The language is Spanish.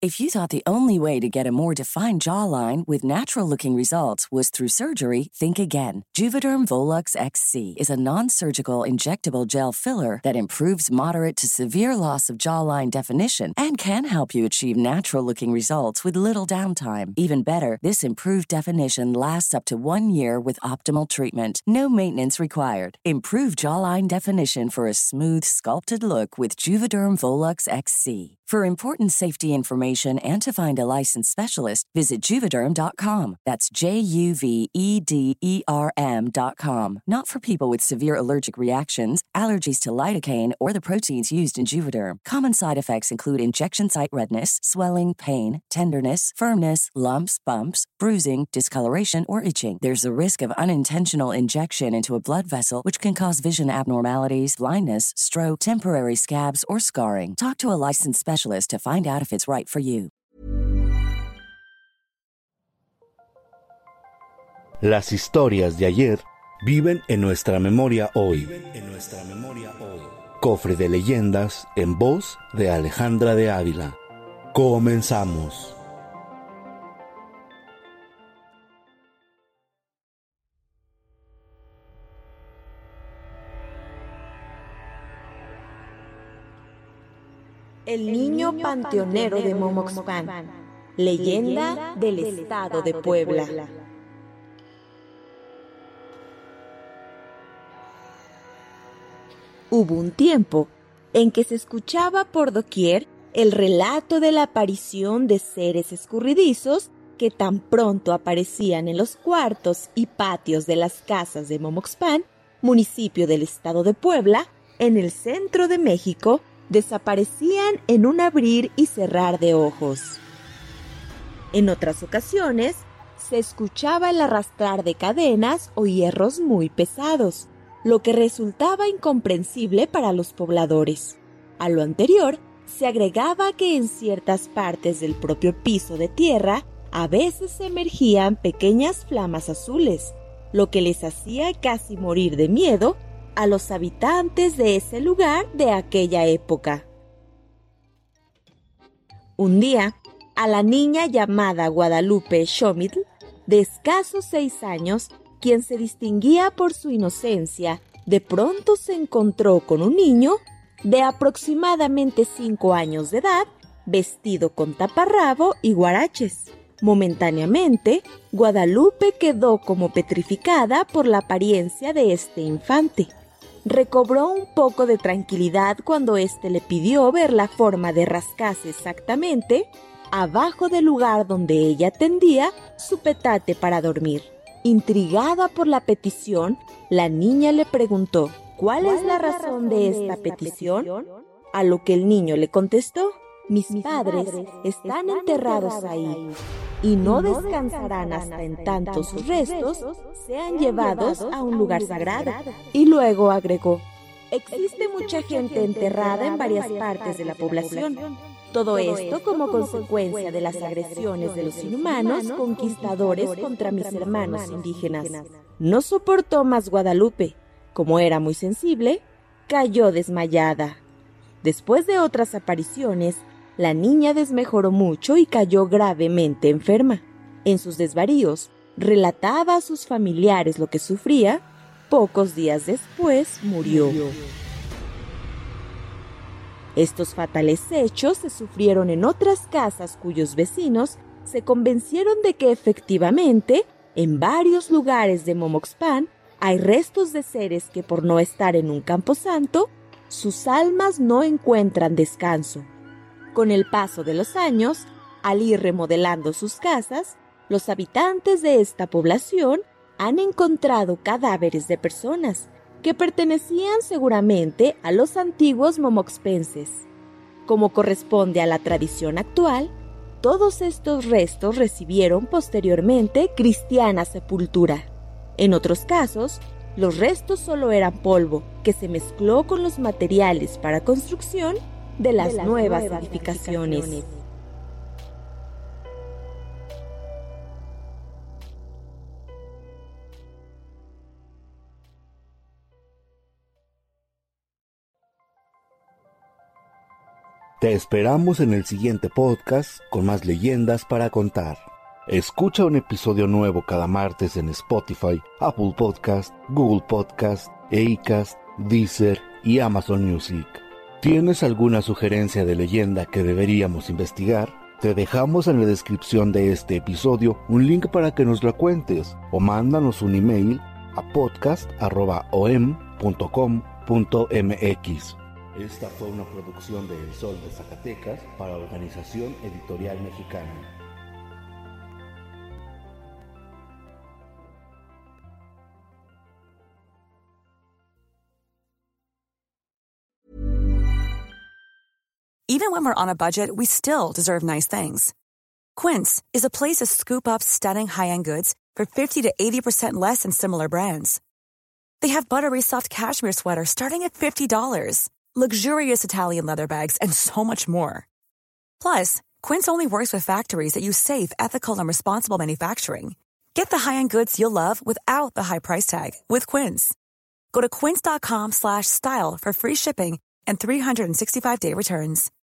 If you thought the only way to get a more defined jawline with natural-looking results was through surgery, think again. Juvederm Volux XC is a non-surgical injectable gel filler that improves moderate to severe loss of jawline definition and can help you achieve natural-looking results with little downtime. Even better, this improved definition lasts up to 1 year with optimal treatment. No maintenance required. Improve jawline definition for a smooth, sculpted look with Juvederm Volux XC. For important safety information and to find a licensed specialist, visit Juvederm.com. That's Juvederm.com. Not for people with severe allergic reactions, allergies to lidocaine, or the proteins used in Juvederm. Common side effects include injection site redness, swelling, pain, tenderness, firmness, lumps, bumps, bruising, discoloration, or itching. There's a risk of unintentional injection into a blood vessel, which can cause vision abnormalities, blindness, stroke, temporary scabs, or scarring. Talk to a licensed specialist to find out if it's right for you. Las historias de ayer viven en nuestra memoria hoy. Cofre de leyendas en voz de Alejandra de Ávila. Comenzamos. El niño panteonero de Momoxpan, leyenda del estado de Puebla. Hubo un tiempo en que se escuchaba por doquier el relato de la aparición de seres escurridizos que tan pronto aparecían en los cuartos y patios de las casas de Momoxpan, municipio del estado de Puebla, en el centro de México, desaparecían en un abrir y cerrar de ojos. En otras ocasiones, se escuchaba el arrastrar de cadenas o hierros muy pesados, lo que resultaba incomprensible para los pobladores. A lo anterior, se agregaba que en ciertas partes del propio piso de tierra, a veces emergían pequeñas flamas azules, lo que les hacía casi morir de miedo a los habitantes de ese lugar de aquella época. Un día, a la niña llamada Guadalupe Xomitl, de escasos 6 años, quien se distinguía por su inocencia, de pronto se encontró con un niño de aproximadamente 5 años de edad, vestido con taparrabo y guaraches. Momentáneamente, Guadalupe quedó como petrificada por la apariencia de este infante. Recobró un poco de tranquilidad cuando éste le pidió ver la forma de rascarse exactamente abajo del lugar donde ella tendía su petate para dormir. Intrigada por la petición, la niña le preguntó, ¿cuál es la razón de esta petición? A lo que el niño le contestó, mis padres están enterrados ahí y no descansarán hasta en tanto sus restos sean llevados a un lugar sagrado. Y luego agregó, existe mucha gente enterrada en varias partes de la población. Todo esto como consecuencia de las agresiones de los inhumanos conquistadores contra mis hermanos indígenas. No soportó más Guadalupe. Como era muy sensible, cayó desmayada. Después de otras apariciones, la niña desmejoró mucho y cayó gravemente enferma. En sus desvaríos, relataba a sus familiares lo que sufría. Pocos días después murió. Estos fatales hechos se sufrieron en otras casas cuyos vecinos se convencieron de que efectivamente, en varios lugares de Momoxpan, hay restos de seres que por no estar en un camposanto, sus almas no encuentran descanso. Con el paso de los años, al ir remodelando sus casas, los habitantes de esta población han encontrado cadáveres de personas que pertenecían seguramente a los antiguos momoxpenses. Como corresponde a la tradición actual, todos estos restos recibieron posteriormente cristiana sepultura. En otros casos, los restos solo eran polvo que se mezcló con los materiales para construcción de las nuevas edificaciones. Te esperamos en el siguiente podcast con más leyendas para contar. Escucha un episodio nuevo cada martes en Spotify, Apple Podcast, Google Podcast, Acast, Deezer y Amazon Music. ¿Tienes alguna sugerencia de leyenda que deberíamos investigar? Te dejamos en la descripción de este episodio un link para que nos la cuentes o mándanos un email a podcast@om.com.mx. Esta fue una producción de El Sol de Zacatecas para Organización Editorial Mexicana. Even when we're on a budget, we still deserve nice things. Quince is a place to scoop up stunning high-end goods for 50 to 80% less than similar brands. They have buttery soft cashmere sweaters starting at $50, luxurious Italian leather bags, and so much more. Plus, Quince only works with factories that use safe, ethical, and responsible manufacturing. Get the high-end goods you'll love without the high price tag with Quince. Go to quince.com/style for free shipping and 365-day returns.